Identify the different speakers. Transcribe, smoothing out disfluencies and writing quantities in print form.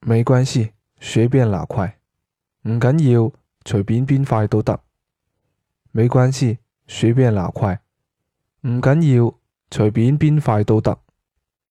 Speaker 1: 沒關係，隨便拿塊。唔緊要，隨便邊塊都得。沒關係，隨便拿塊。唔緊要，隨便邊塊都得。